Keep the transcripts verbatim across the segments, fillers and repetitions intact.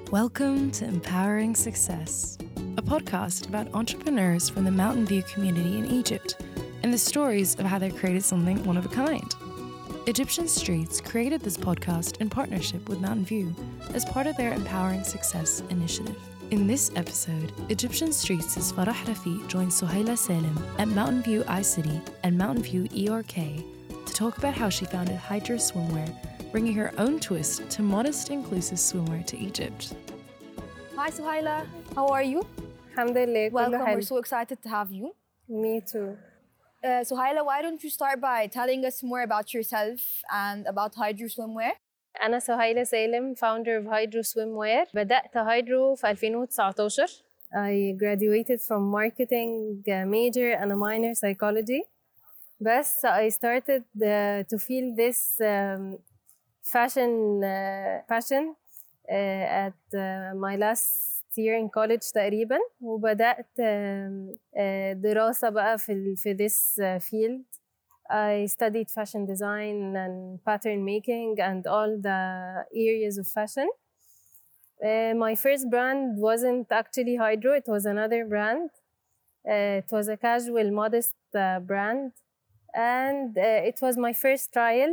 Welcome to Empowering Success, a podcast about entrepreneurs from the Mountain View community in Egypt and the stories of how they created something one of a kind. Egyptian Streets created this podcast in partnership with Mountain View as part of their Empowering Success initiative. In this episode, Egyptian Streets' Farah Rafiq joins Suhaila Salem at Mountain View iCity and Mountain View E R K to talk about how she founded Hydro Swimwear, bringing her own twist to modest, inclusive swimwear to Egypt. Hi Suhaila, how are you? Alhamdulillah, Welcome, كله حلو. we're so excited to have you. Me too. Uh, Suhaila, why don't you start by telling us more about yourself and about Hydro Swimwear? أنا سهيلة سالم, founder of Hydro Swimwear. بدأت هايدرو في ألفين وتسعتاشر. I graduated from marketing major and a minor psychology. بس I started uh, to feel this um, fashion uh, passion uh, at uh, my last year in college تقريبا, وبدأت uh, uh, دراسة بقى في في this uh, field. I studied fashion design and pattern making and all the areas of fashion. Uh, my first brand wasn't actually Hydro, it was another brand. Uh, it was a casual, modest uh, brand, and uh, it was my first trial.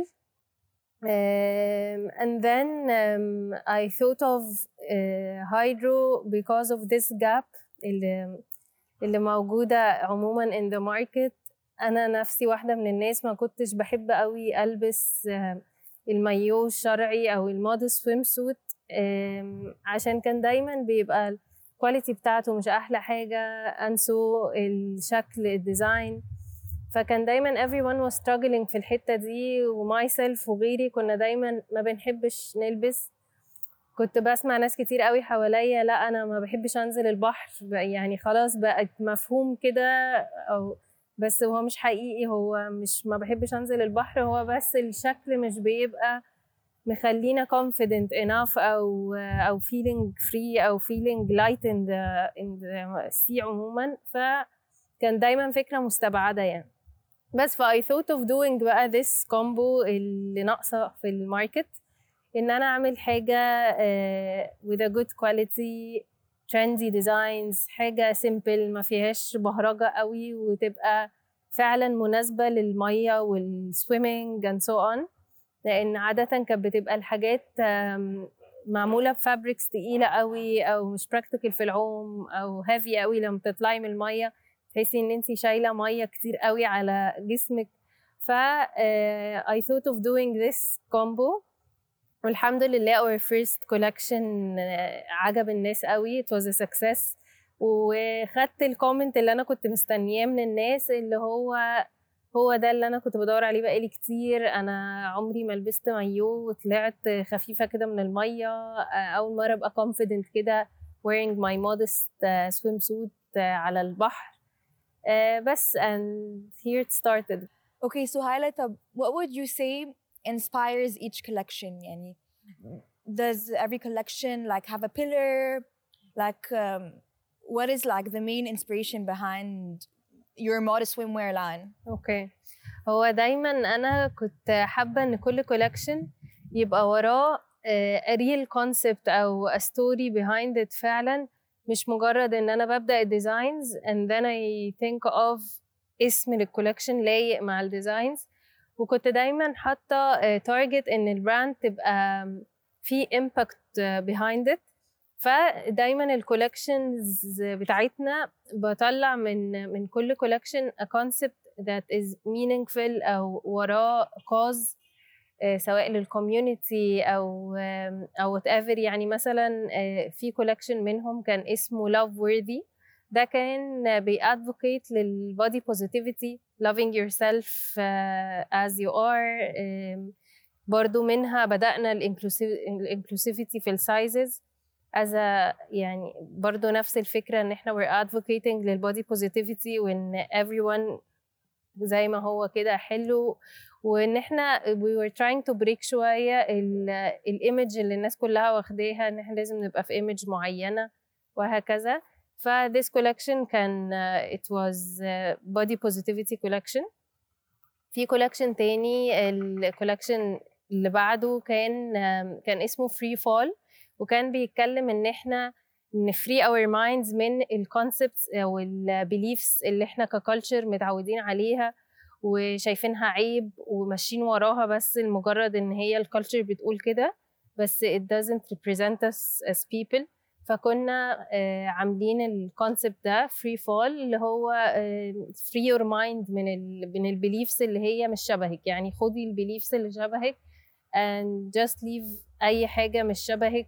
Um, and then um, I thought of uh, Hydro because of this gap اللي, اللي موجودة عموما in the market. أنا نفسي واحدة من الناس ما كنتش بحب قوي ألبس المايو الشرعي أو الموديل سويم سوت, عشان كان دايما بيبقى الكواليتي بتاعته مش أحلى حاجة, أنسو الشكل الديزاين. فكان دايما everyone was struggling في الحتة دي, ومايسلف وغيري كنا دايما ما بنحبش نلبس. كنت بسمع ناس كتير قوي حواليا لا أنا ما بحبش أنزل البحر, يعني خلاص بقت مفهوم كده, أو بس هو مش حقيقي, هو مش ما بحبش أنزل البحر, هو بس الشكل مش بيبقى مخلينا confident enough أو أو feeling free أو feeling light in the in the sea عموما. فكان دايما فكرة مستبعدة يعني. بس ف I thought of doing بقى this combo اللي ناقصة في الماركت, إن أنا أعمل حاجة uh, with a good quality, trendy designs, حاجة simple ما فيهاش بهرجة قوي, وتبقى فعلا مناسبة للمية والswimming and so on. لأن عادة كانت بتبقى الحاجات معمولة بفابريكس تقيلة قوي أو مش practical في العوم أو heavy قوي, لما تطلعي من المية تحسي إن أنتي شايلة مية كتير قوي على جسمك. ف uh, I thought of doing this combo, والحمد لله our first collection عجب الناس قوي, it was a success. وخدت الكومنت اللي أنا كنت مستنياه من الناس, اللي هو هو ده اللي أنا كنت بدور عليه بقالي كتير. أنا عمري ما لبست مايو وطلعت خفيفة كده من المية, أول مرة أبقى confident كده wearing my modest swimsuit على البحر. بس and here it started. Okay, so Suhaila, what would you say inspires each collection? يعني does every collection like have a pillar? Like um, what is like the main inspiration behind your modest swimwear line? Okay, هو دايما أنا كنت حابة إن كل collection يبقى وراه a real concept أو a story behind it فعلا, مش مجرد إن أنا ببدأ الديزاينز and then I think of اسم الكولكشن لايق مع الديزاينز. وكنت دايما حاطة تارجت إن البراند تبقى في impact behind it. فدايما الكولكشنز بتاعتنا بطلع من من كل كولكشن a concept that is meaningful أو وراه cause, سواء للكوميونيتي أو أو whatever. يعني مثلا في كولكشن منهم كان اسمه love worthy, ده كان بيadvocate للbody positivity, loving yourself uh, as you are. um, برضو منها بدأنا الانكلوسيفيتي في السايزز as a, يعني برضو نفس الفكرة ان احنا we're advocating للbody positivity, وان everyone زي ما هو كده حلو, وان احنا we were trying to break شوية الإيمج اللي الناس كلها واخداها ان احنا لازم نبقى في إيمج معينة وهكذا. ف this collection كان uh, it was uh, body positivity collection. في collection تاني, الcollection اللي بعده كان um, كان اسمه free fall, وكان بيتكلم ان احنا نفري our minds من الكونسبتس او البيليفز اللي احنا ككالتشر متعودين عليها وشايفينها عيب وماشيين وراها بس لمجرد ان هي الكالتشر بتقول كده، بس it doesn't represent us as people. فكنا آه عاملين الكونسبت ده free fall اللي هو آه free your mind من ال من البيليفز اللي هي مش شبهك، يعني خدي البيليفز اللي شبهك and just leave اي حاجة مش شبهك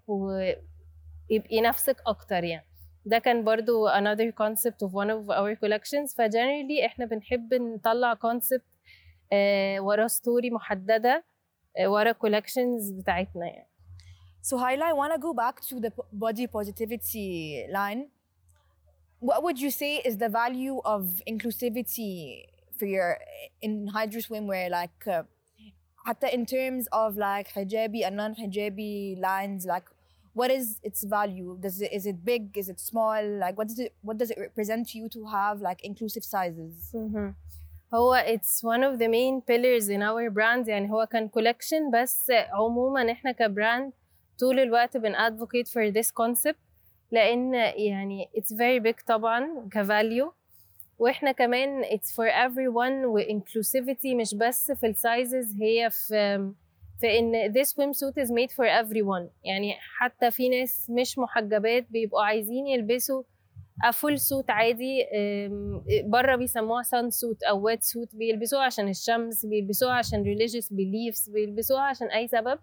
ويبقي نفسك اكتر. يعني ده كان برضو another concept of one of our collections. فجنرالي احنا بنحب نطلع concept آه ورا ستوري محددة آه ورا collections بتاعتنا يعني. So Haila, I want to go back to the body positivity line. What would you say is the value of inclusivity for your in Hydro swimwear, like uh, حتى in terms of like hijabi and non-hijabi lines, like what is its value? Does it, is it big? Is it small? Like what does it what does it represent to you to have like inclusive sizes? Mm-hmm. هو it's one of the main pillars in our brand. يعني هو كان collection بس عموما احنا كبراند طول الوقت بن advocate for this concept لأن يعني it's very big طبعا كvalue، واحنا كمان it's for everyone و inclusivity مش بس في السايزز، هي في في ان this swimsuit is made for everyone. يعني حتى في ناس مش محجبات بيبقوا عايزين يلبسوا a full suit عادي، بره بيسموها sun suit أو wet suit، بيلبسوها عشان الشمس، بيلبسوها عشان religious beliefs، بيلبسوها عشان أي سبب.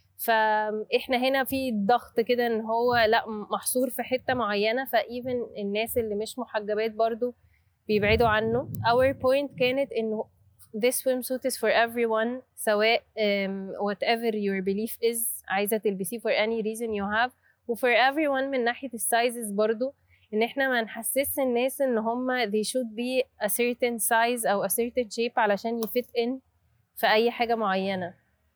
فاحنا هنا في ضغط كده ان هو لا محصور في حته معينه، فايفن الناس اللي مش محجبات برضو بيبعدوا عنه. our point كانت انه this swimsuit is for everyone، سواء um, whatever your belief is عايزه تلبسيه for any reason you have، و for everyone من ناحيه السايزز برضو، ان احنا ما نحسس الناس ان هم they should be a certain size او a certain shape علشان يفت in في اي حاجه معينه.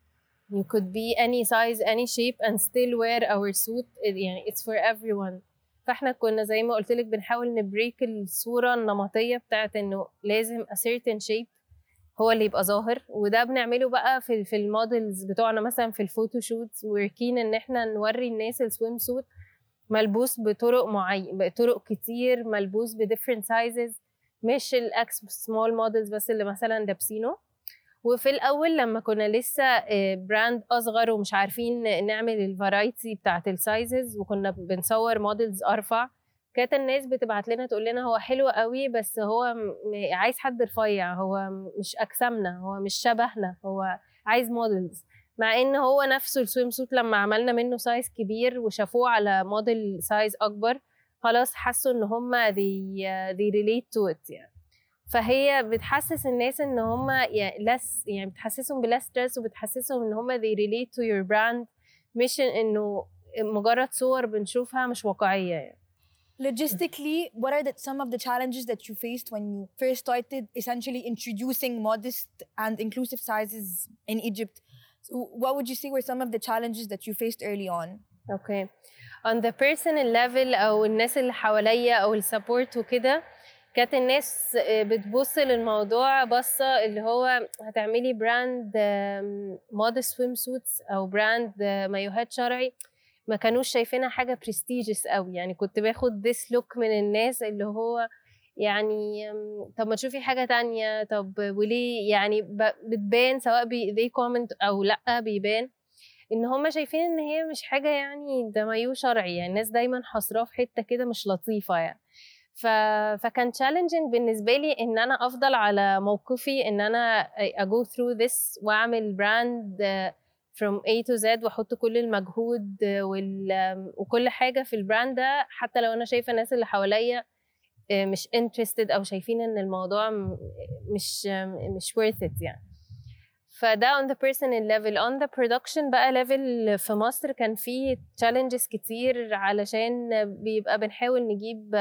You could be any size, any shape and still wear our suit. يعني it's for everyone. فاحنا كنا زي ما قلت لك بنحاول نبريك الصورة النمطية بتاعت انه لازم a certain shape هو اللي يبقى ظاهر، وده بنعمله بقى في في المودلز بتوعنا مثلا في الفوتو شوتس. وركين ان احنا نوري الناس السويم سوت ملبوس بطرق معين، بطرق كتير، ملبوس ب different sizes، مش الاكس small models بس اللي مثلا لابسينه. وفي الأول لما كنا لسه براند أصغر ومش عارفين نعمل الفرايتي بتاعت السايزز وكنا بنصور موديلز أرفع، كانت الناس بتبعت لنا تقول لنا هو حلو قوي بس هو عايز حد رفيع، هو مش أجسامنا، هو مش شبهنا، هو عايز موديلز. مع إن هو نفسه السويم سوت لما عملنا منه سايز كبير وشافوه على موديل سايز أكبر خلاص حسوا إن هما they, they relate to it يعني. فهي بتحسس الناس ان هم يعني less، يعني بتحسسهم بلا ستريس وبتحسسهم ان هم they relate to your brand، مش انه مجرد صور بنشوفها مش واقعية يعني. Logistically, what are the, some of the challenges that you faced when you first started essentially introducing modest and inclusive sizes in Egypt? So what would you say were some of the challenges that you faced early on? Okay. On the personal level أو الناس اللي حواليا أو السبورت وكده، كانت الناس بتبص للموضوع بصة اللي هو هتعملي براند مودست سويم سوتس أو براند مايوهات شرعي، ما كانوش شايفينها حاجة بريستيجيس قوي. يعني كنت باخد this look من الناس اللي هو يعني طب ما تشوفي حاجة تانية، طب وليه يعني بتبان سواء بي they comment أو لأ بيبان إن هم شايفين إن هي مش حاجة يعني ده مايو شرعي. يعني الناس دايما حصراه في حتة كده مش لطيفة يعني. ف... فكان challenging بالنسبة لي إن أنا أفضل على موقفي، إن أنا I go through this وأعمل brand from A to Z وأحط كل المجهود وال... وكل حاجة في البراند ده، حتى لو أنا شايفة الناس اللي حواليا مش interested أو شايفين إن الموضوع مش مش worth it يعني. فده on the personal level. on the production بقى level في مصر كان فيه challenges كتير علشان بيبقى بنحاول نجيب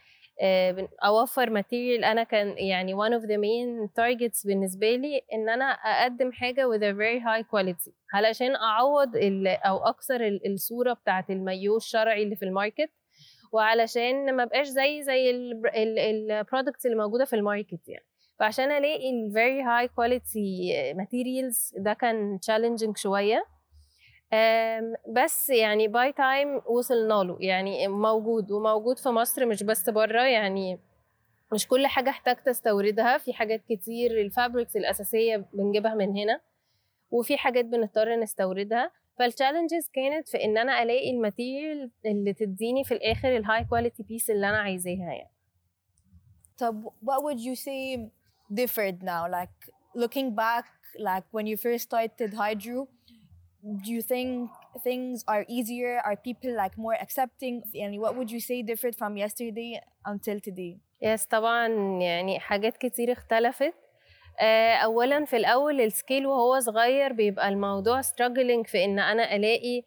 اوفر ماتيريال. انا كان يعني one of the main targets بالنسبه لي ان انا اقدم حاجه with a very high quality علشان اعوض او اكسر الصوره بتاعه المايو الشرعي اللي في الماركت، وعلشان ما بقاش زي زي البرودكتس اللي موجوده في الماركت يعني. فعشان الاقي ال very high quality materials ده كان challenging شويه. بس يعني باي تايم وصلنا له، يعني موجود وموجود في مصر مش بس بره. يعني مش كل حاجة احتاج تستوردها، في حاجات كتير الفابريكس الأساسية بنجيبها من هنا، وفي حاجات بنضطر نستوردها. فالتشالنجز كانت في ان انا الاقي الماتيريال اللي تديني في الاخر الهاي كواليتي بيس اللي انا عايزاها يعني. طب what would you say differed now, like looking back, like when you first started Hydro, do you think things are easier, are people like more accepting, and what would you say differed from yesterday until today? يس طبعا يعني حاجات كتير اختلفت. اولا في الاول السكيل وهو صغير بيبقى الموضوع struggling في ان انا الاقي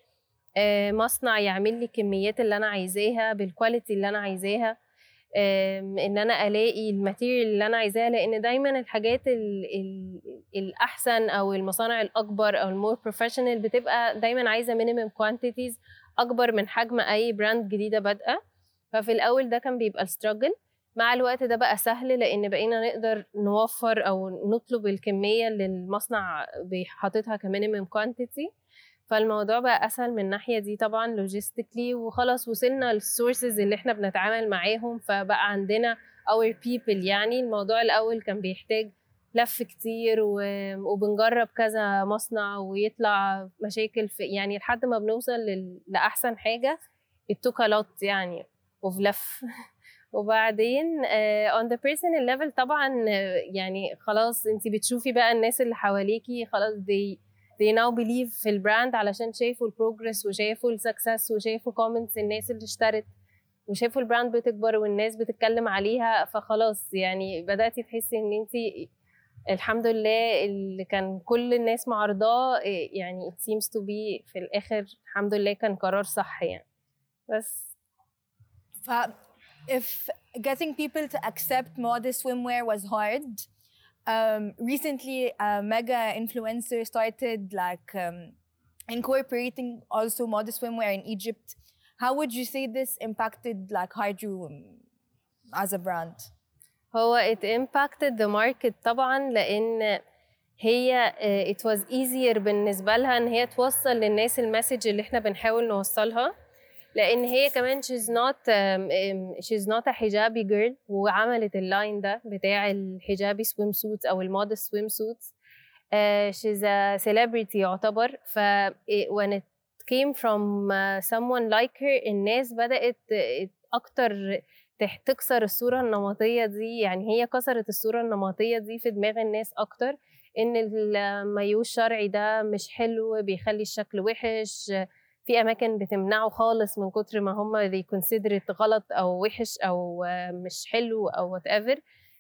مصنع يعمل لي كميات اللي انا عايزاها بالكواليتي اللي انا عايزاها، ان انا الاقي الماتيريال اللي انا عايزاها، لان دايما الحاجات ال ال الاحسن او المصانع الاكبر او المور بروفيشنال بتبقى دايما عايزه مينيمم كوانتيتيز اكبر من حجم اي براند جديده بادئه. ففي الاول ده كان بيبقى الستراجل. مع الوقت ده بقى سهل لان بقينا نقدر نوفر او نطلب الكميه اللي المصنع حاططها كمينيمم كوانتيتي، فالموضوع بقى اسهل من الناحيه دي طبعا لوجيستيكلي، وخلاص وصلنا للسورسز اللي احنا بنتعامل معاهم، فبقى عندنا our people. يعني الموضوع الاول كان بيحتاج لف كتير وبنجرب كذا مصنع ويطلع مشاكل في يعني لحد ما بنوصل لاحسن حاجه. it took a lot يعني وفي لف وبعدين uh, on the personal level طبعا uh, يعني خلاص انتي بتشوفي بقى الناس اللي حواليكي خلاص they they now believe في البراند علشان شايفوا البروجرس وشايفوا السكسس وشايفوا comments الناس اللي اشترت وشايفوا البراند بتكبر والناس بتتكلم عليها، فخلاص يعني بدأتي تحسي ان انتي الحمد لله اللي كان كل الناس معارضاه يعني it seems to be في الآخر الحمد لله كان قرار صح يعني. بس ف if getting people to accept modest swimwear was hard, um, recently a mega influencer started like um, incorporating also modest swimwear in Egypt. How would you say this impacted like Hydro as a brand? هو it impacted the market طبعا لأن هي uh, it was easier بالنسبة لها إن هي توصل للناس المسج اللي إحنا بنحاول نوصلها، لأن هي كمان she's not um, um, she's not a حجابي girl، وعملت اللاين ده بتاع الحجابي swim suits أو المودست swim suits. uh, she's a celebrity يعتبر. ف when it came from uh, someone like her الناس بدأت أكتر تكسر الصورة النمطية دي. يعني هي كسرت الصورة النمطية دي في دماغ الناس أكتر، إن المايو الشرعي ده مش حلو بيخلي الشكل وحش، في أماكن بتمنعه خالص من كتر ما هم they consider it غلط أو وحش أو مش حلو أو whatever.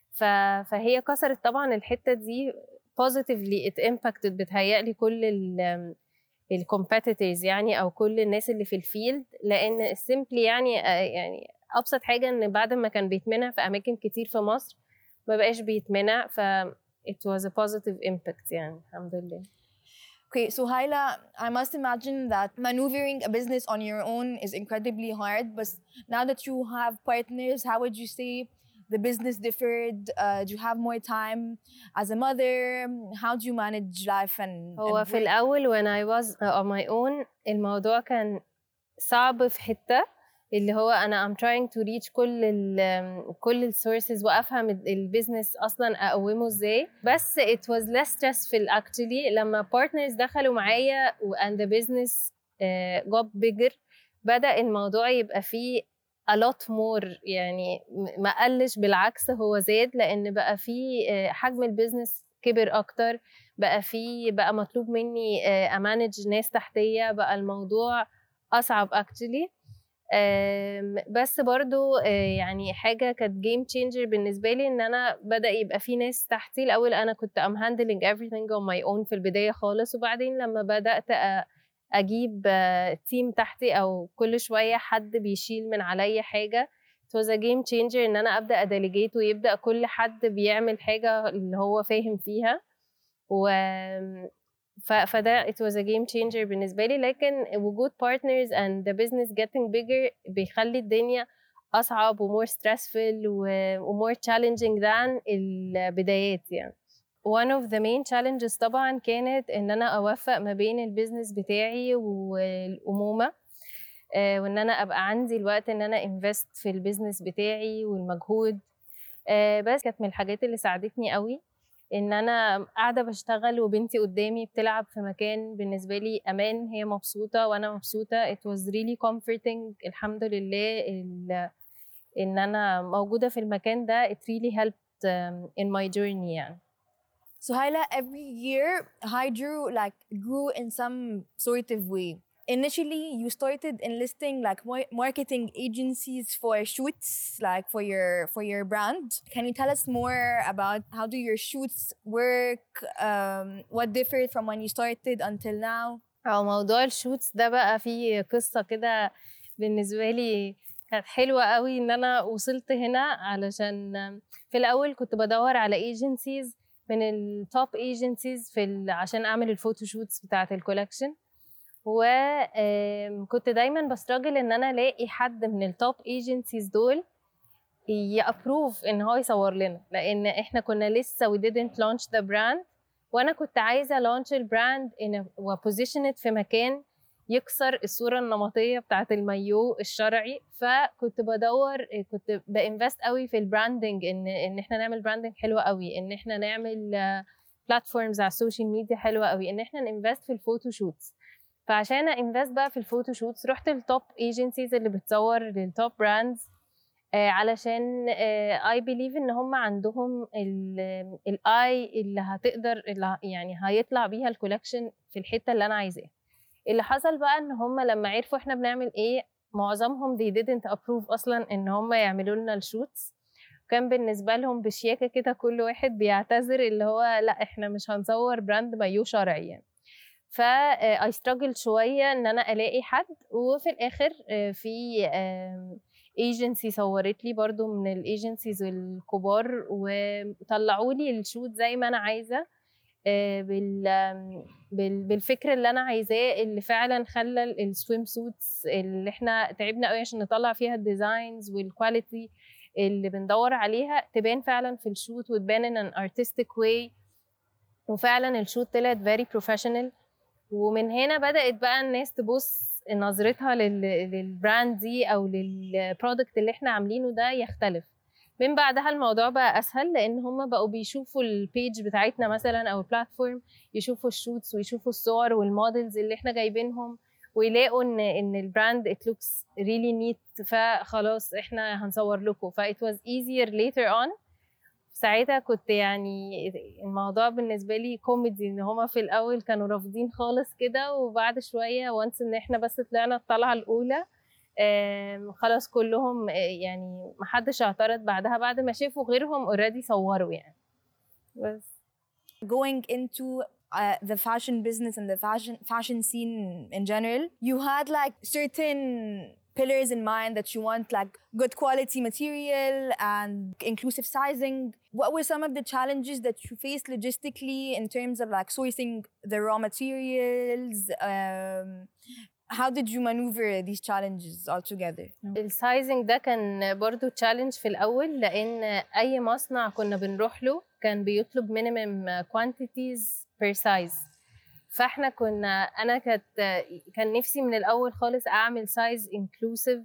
فهي كسرت طبعا الحتة دي positively it impacted بتهيألي كل ال الcompetitors يعني أو كل الناس اللي في الفيلد، لأن simply يعني يعني أبسط حاجة إن بعد ما كان بيتمنع في أماكن كتير في مصر ما بقاش بيتمنع، ف it was a positive impact يعني الحمد لله. Okay, so Haila, I must imagine that maneuvering a business on your own is incredibly hard, but now that you have partners, how would you say the business differed? Uh, do you have more time as a mother? How do you manage life and, هو and في الأول when I was on my own الموضوع كان صعب في حتة اللي هو أنا I'm trying to reach كل ال كل السورسز وأفهم البيزنس أصلاً أقومه إزاي، بس it was less stressful actually لما partners دخلوا معايا and the business uh, got bigger. بدأ الموضوع يبقى فيه a lot more يعني ما قلش بالعكس هو زاد، لأن بقى فيه uh, حجم البيزنس كبر أكتر، بقى فيه بقى مطلوب مني uh, أمانج ناس تحتية، بقى الموضوع أصعب actually. بس برضو يعني حاجة كانت game changer بالنسبة لي إن أنا بدأ يبقى في ناس تحتي. الأول أنا كنت I'm handling everything on my own في البداية خالص، وبعدين لما بدأت أجيب تيم تحتي أو كل شوية حد بيشيل من عليا حاجة it was a game changer إن أنا أبدأ أديليجيت ويبدأ كل حد بيعمل حاجة اللي هو فاهم فيها، و فده it was a game changer بالنسبة لي. لكن وجود partners and the business getting bigger بيخلي الدنيا أصعب و more stressful و more challenging than البدايات يعني. one of the main challenges طبعا كانت ان انا اوفق ما بين البيزنس بتاعي والامومه، آه وان انا ابقى عندي الوقت ان انا انفست في البيزنس بتاعي والمجهود. آه بس كانت من الحاجات اللي ساعدتني قوي ان انا قاعده بشتغل وبنتي قدامي بتلعب في مكان بالنسبه لي امان، هي مبسوطه وانا مبسوطه. it was really comforting الحمد لله ان انا موجوده في المكان ده. it really helped um, in my journey يعني. So Haila, every year Hydro like grew in some sort of way. Initially, you started enlisting like marketing agencies for shoots, like for your for your brand. Can you tell us more about how do your shoots work? Um, what differed from when you started until now? أو موضوع الشوتس ده بقى فيه قصة كده بالنسبة لي كانت حلوة قوي ان انا وصلت هنا، علشان في الاول كنت بدور على ايجنسيز من التوب ايجنسيز في ال... عشان اعمل الفوتوشوتس بتاعه الكولكشن، وكنت دايما بستراجل ان انا الاقي حد من التوب ايجنسيز دول يابروف ان هو يصور لنا، لان احنا كنا لسه we didn't launch the brand، وانا كنت عايزه launch البراند وبوزيشن في مكان يكسر الصوره النمطيه بتاعه المايو الشرعي. فكنت بدور، كنت بانفست قوي في البراندنج، ان ان احنا نعمل براندنج حلوه قوي، ان احنا نعمل بلاتفورمز على السوشيال ميديا حلوه قوي، ان احنا ننفست في الفوتوشوتس. فعشان انفست بقى في الفوتوشوتس رحت للتوب ايجنسيز اللي بتصور للتوب براندز، آه علشان اي بيليف ان هم عندهم الاي اللي هتقدر اللي يعني هيطلع بيها الكولكشن في الحته اللي انا عايزاها. اللي حصل بقى ان هم لما عرفوا احنا بنعمل ايه، معظمهم they didn't approve اصلا ان هم يعملوا لنا الشوتس. كان بالنسبه لهم بشياكه كده كل واحد بيعتذر اللي هو لا احنا مش هنصور براند مايو شرعي يعني. ف I struggled شويه ان انا الاقي حد، وفي الاخر في ايجنسي صورت لي برضو من الايجنسيز الكبار، وطلعوا لي الشوت زي ما انا عايزه بالفكر اللي انا عايزاه، اللي فعلا خلى السويم سوتس اللي احنا تعبنا قوي عشان نطلع فيها الديزاينز والكواليتي اللي بندور عليها تبان فعلا في الشوت، وتبان ان an artistic way، وفعلا الشوت طلعت very professional. ومن هنا بدأت بقى الناس تبص نظرتها للبراند دي او للبرودكت اللي احنا عاملينه ده يختلف. من بعدها الموضوع بقى اسهل، لان هم بقوا بيشوفوا البيج بتاعتنا مثلا او البلاتفورم، يشوفوا الشوتس ويشوفوا الصور والمودلز اللي احنا جايبينهم، ويلاقوا ان ان البراند it looks really neat، فخلاص احنا هنصور لكم. ف it was easier later on. ساعتها كنت يعني الموضوع بالنسبه لي كوميدي، ان هما في الاول كانوا رافضين خالص كده، وبعد شويه وانس ان احنا بس طلعنا الطلعه الاولى خلاص كلهم يعني محدش اعترض بعدها، بعد ما شافوا غيرهم اوريدي صوروا يعني. بس going into uh, the fashion business and the fashion fashion scene in general, you had like certain pillars in mind that you want, like good quality material and inclusive sizing. What were some of the challenges that you faced logistically in terms of like sourcing the raw materials? Um, how did you maneuver these challenges all together? السايزنج ده كان برضو تشالنج في الأول، لأن أي مصنع كنا بنروح له كان بيطلب minimum quantities per size. فاحنا كنا انا كانت كان نفسي من الاول خالص اعمل سايز انكلوسيف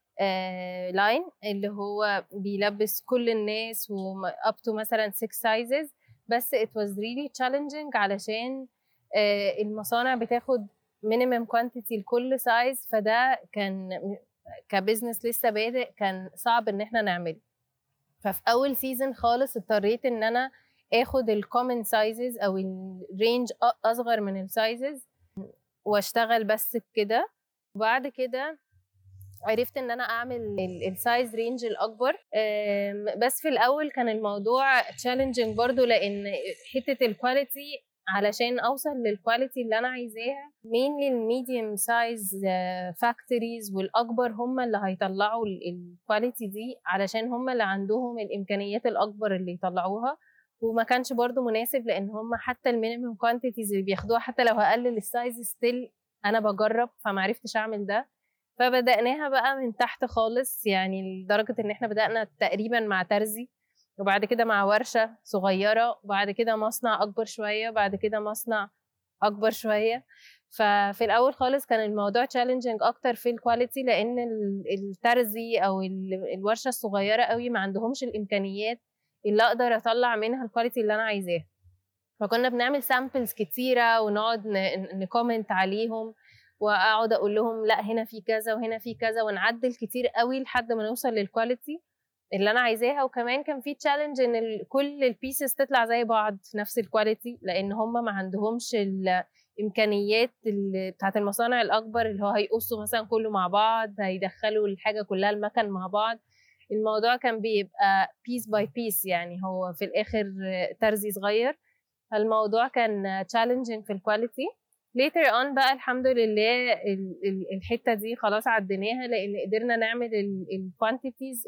لاين اللي هو بيلبس كل الناس و up to مثلا six sizes، بس it was really challenging علشان uh, المصانع بتاخد minimum quantity لكل size، فده كان كبزنس لسه بادئ كان صعب ان احنا نعمله. ففي اول سيزن خالص اضطريت ان انا اخد الكومن سايزز او الرينج اصغر من السايزز واشتغل بس بكده. وبعد كده عرفت ان انا اعمل السايز رينج الاكبر، بس في الاول كان الموضوع تشالنجينج برضو، لان حته الكواليتي علشان اوصل للكواليتي اللي انا عايزاها مينلي الميديوم سايز فاكتوريز والاكبر هم اللي هيطلعوا الكواليتي دي، علشان هم اللي عندهم الامكانيات الاكبر اللي يطلعوها. وما كانش برضو مناسب، لان هم حتى المينيمم كوانتيتيز اللي بياخدوها حتى لو هقلل السايز ستيل انا بجرب، فمعرفتش اعمل ده. فبدأناها بقى من تحت خالص، يعني لدرجة ان احنا بدأنا تقريبا مع ترزي، وبعد كده مع ورشة صغيرة، وبعد كده مصنع أكبر شوية، وبعد كده مصنع أكبر شوية. ففي الأول خالص كان الموضوع challenging أكتر في الكواليتي، لأن الترزي أو الورشة الصغيرة قوي ما عندهمش الإمكانيات اللي أقدر أطلع منها الكواليتي اللي أنا عايزاها. فكنا بنعمل سامبلز كتيرة ونقعد نكومنت عليهم، وأقعد أقول لهم لا هنا في كذا وهنا في كذا، ونعدل كتير قوي لحد ما نوصل للكواليتي اللي أنا عايزاها. وكمان كان في تشالنج إن كل البيسز تطلع زي بعض في نفس الكواليتي، لأن هم ما عندهمش الإمكانيات بتاعت المصانع الأكبر اللي هو هيقصوا مثلا كله مع بعض، هيدخلوا الحاجة كلها المكن مع بعض. الموضوع كان بيبقى بيس باي بيس، يعني هو في الآخر ترزي صغير. فالموضوع كان challenging في الكواليتي. later on بقى الحمد لله الحتة دي خلاص عديناها، لأن قدرنا نعمل الكوانتيتيز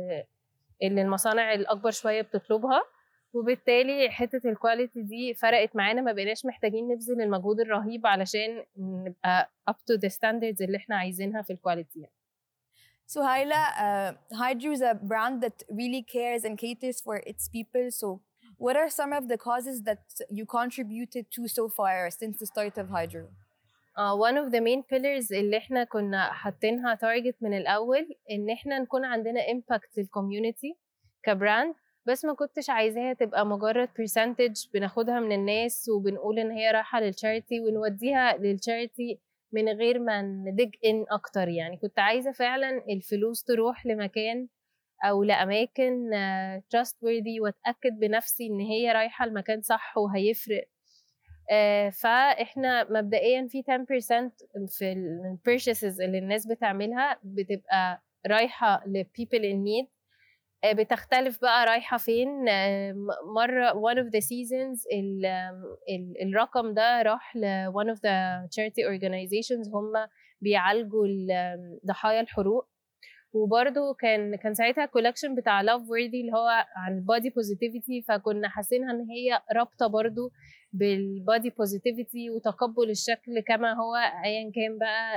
اللي المصانع الأكبر شوية بتطلبها، وبالتالي حتة الكواليتي دي فرقت معانا، ما بقيناش محتاجين نبذل المجهود الرهيب علشان نبقى up to the standards اللي احنا عايزينها في الكواليتي. So Haila, uh, Hydro is a brand that really cares and caters for its people. So what are some of the causes that you contributed to so far since the start of Hydro? Uh, one of the main pillars اللي احنا كنا حاطينها target من الأول إن احنا نكون عندنا impact للcommunity كبراند، بس ما كنتش عايزاها تبقى مجرد percentage بناخدها من الناس وبنقول إن هي رايحة للcharity ونوديها للcharity من غير ما ندج إن أكتر. يعني كنت عايزة فعلا الفلوس تروح لمكان أو لأماكن uh, trustworthy، وأتأكد بنفسي إن هي رايحة المكان صح وهيفرق. uh, فإحنا مبدئيا في عشرة بالمية في ال purchases اللي الناس بتعملها بتبقى رايحة ل people in need. uh, بتختلف بقى رايحة فين. uh, مرة one of the seasons ال, ال, الرقم ده راح ل one of the charity organizations هم بيعالجوا ضحايا الحروق. وبرضو كان كان ساعتها كولكشن بتاع لاف وورثي اللي هو عن البادي بوزيتيفيتي، فكنا حاسينها ان هي رابطه برضو بالبادي بوزيتيفيتي وتقبل الشكل كما هو ايا كان بقى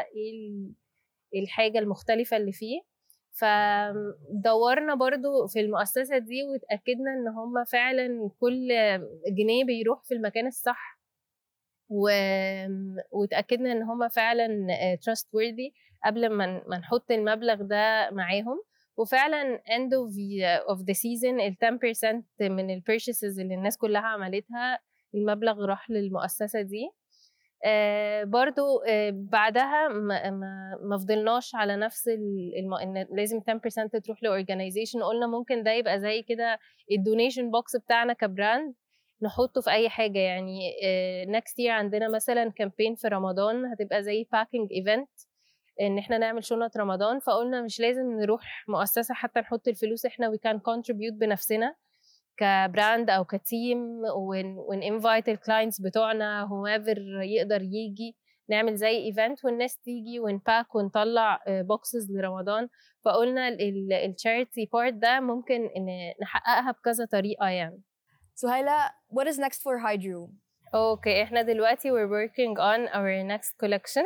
ايه الحاجه المختلفه اللي فيه. فدورنا برضو في المؤسسه دي واتاكدنا ان هم فعلا كل جنيه بيروح في المكان الصح، و... واتاكدنا ان هم فعلا trustworthy قبل ما ما نحط المبلغ ده معاهم. وفعلا end of the, of the season ال عشرة بالمية من ال purchases اللي الناس كلها عملتها المبلغ راح للمؤسسة دي. آه برضو آه بعدها ما, ما, ما فضلناش على نفس الم... إن لازم عشرة بالمية تروح لأورجانيزيشن. قلنا ممكن ده يبقى زي كده الدونيشن بوكس بتاعنا كبراند نحطه في أي حاجة. يعني آه next year عندنا مثلا كامبين في رمضان هتبقى زي packing event ان احنا نعمل شنط رمضان، فقلنا مش لازم نروح مؤسسة حتى نحط الفلوس، احنا we can contribute بنفسنا كبراند او كتيم ون invite الكلاينتس بتوعنا whoever يقدر يجي، نعمل زي ايفنت والناس تيجي ونباك ونطلع بوكسز لرمضان. فقلنا التشاريتي بارت ده ممكن نحققها بكذا طريقة يعني. Suhaila, what is next for Hydro? Okay, احنا دلوقتي we're working on our next collection.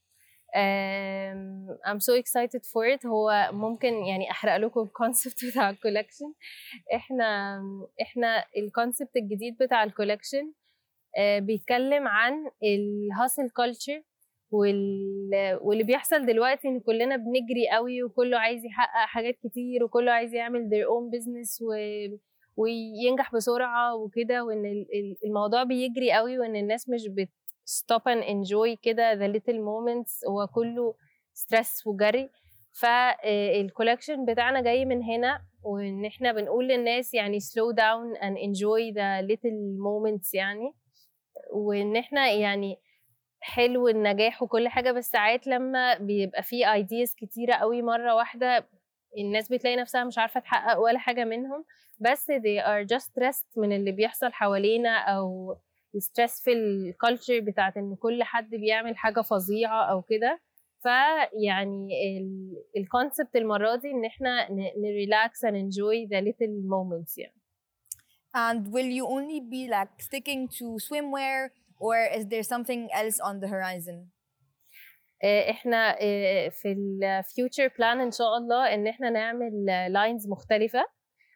Um, I'm so excited for it. هو ممكن يعني أحرق لكم الكونسبت بتاع الكولكشن. إحنا إحنا الكونسبت الجديد بتاع الكولكشن uh, بيتكلم عن الهاسل كولتشر وال... واللي بيحصل دلوقتي إن كلنا بنجري قوي وكله عايز يحقق حاجات كتير وكله عايز يعمل their own business و... وينجح بسرعة وكده، وإن الموضوع بيجري قوي وإن الناس مش بت stop and enjoy كده the little moments، هو كله stress وجري. فالكولكشن بتاعنا جاي من هنا، وإن إحنا بنقول للناس يعني slow down and enjoy the little moments يعني، وإن إحنا يعني حلو النجاح وكل حاجة، بس ساعات لما بيبقى فيه ideas كتيرة قوي مرة واحدة الناس بتلاقي نفسها مش عارفة تحقق ولا حاجة منهم، بس they are just stressed من اللي بيحصل حوالينا أو stress في الكالتشر بتاعت إن كل حد بيعمل حاجة فظيعة أو كده. فيعني الكونسبت المرة دي إن إحنا نريلاx and enjoy the little moments يعني. And will you only be like sticking to swimwear or is there something else on the horizon? إحنا في ال future plan إن شاء الله إن إحنا نعمل lines مختلفة،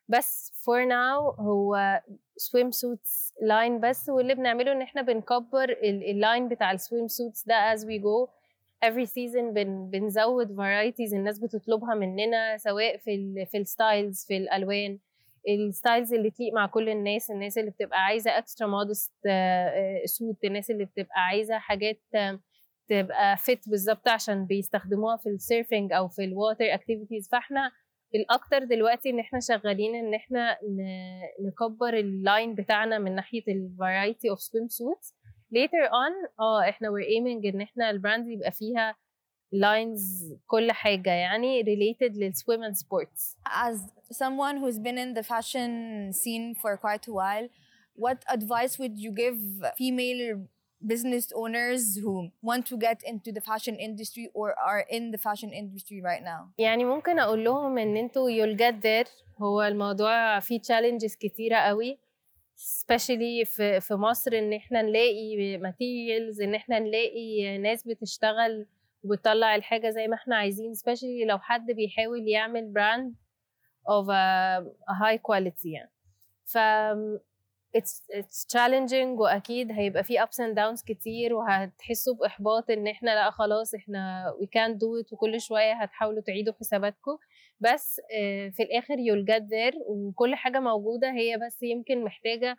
بس for now هو swim suits line بس، واللي بنعمله ان احنا بنكبر اللاين بتاع السويم suits ده as we go every season. بن بنزود varieties الناس بتطلبها مننا، سواء في ال في الستايلز، في الالوان، الستايلز اللي تليق مع كل الناس، الناس اللي بتبقى عايزه اكسترا مودست سوت، الناس اللي بتبقى عايزه حاجات تبقى فيت بالظبط عشان بيستخدموها في السيرفنج او في الواتر اكتيفيتيز. فاحنا الاكتر دلوقتي ان احنا شغالين ان احنا نكبر اللاين بتاعنا من ناحيه الفرايتي اوف سويم سوتس. later on اه احنا we're aiming ان احنا البراند يبقى فيها lines كل حاجة يعني related للswim and sports. As someone who's been in the fashion scene for quite a while, what advice would you give female business owners who want to get into the fashion industry or are in the fashion industry right now? يعني ممكن أقول لهم إن أنتوا you'll get there. هو الموضوع فيه challenges كتيرة قوي، especially في في مصر، إن إحنا نلاقي materials، إن إحنا نلاقي ناس بتشتغل وبتطلع الحاجة زي ما احنا عايزين، especially لو حد بيحاول يعمل brand of a, a high quality يعني. ف it's, it's challenging، وأكيد هيبقى فيه ups and downs كتير، وهتحسوا بإحباط إن احنا لا خلاص احنا we can't do it، وكل شوية هتحاولوا تعيدوا حساباتكم. بس في الآخر you'll get there، وكل حاجة موجودة، هي بس يمكن محتاجة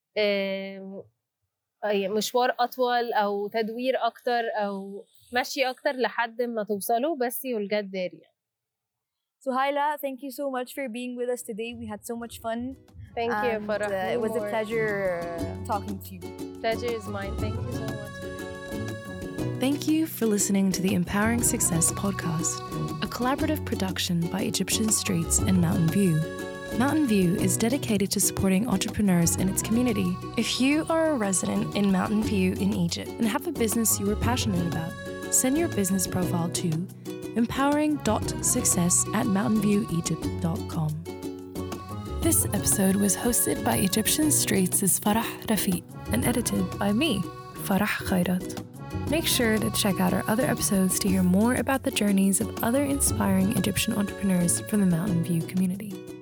مشوار أطول أو تدوير أكتر أو ماشي أكتر لحد ما توصلوا، بس you'll get there يعني. Suhaila, thank you so much for being with us today. We had so much fun. Thank you, Farah. Uh, it was a pleasure talking to you. Pleasure is mine. Thank you so much. Thank you for listening to the Empowering Success podcast, a collaborative production by Egyptian Streets and Mountain View. Mountain View is dedicated to supporting entrepreneurs in its community. If you are a resident in Mountain View in Egypt and have a business you are passionate about, send your business profile to empowering dot success at mountain view egypt dot com. This episode was hosted by Egyptian Streets' Farah Rafiq and edited by me, Farah Khairat. Make sure to check out our other episodes to hear more about the journeys of other inspiring Egyptian entrepreneurs from the Mountain View community.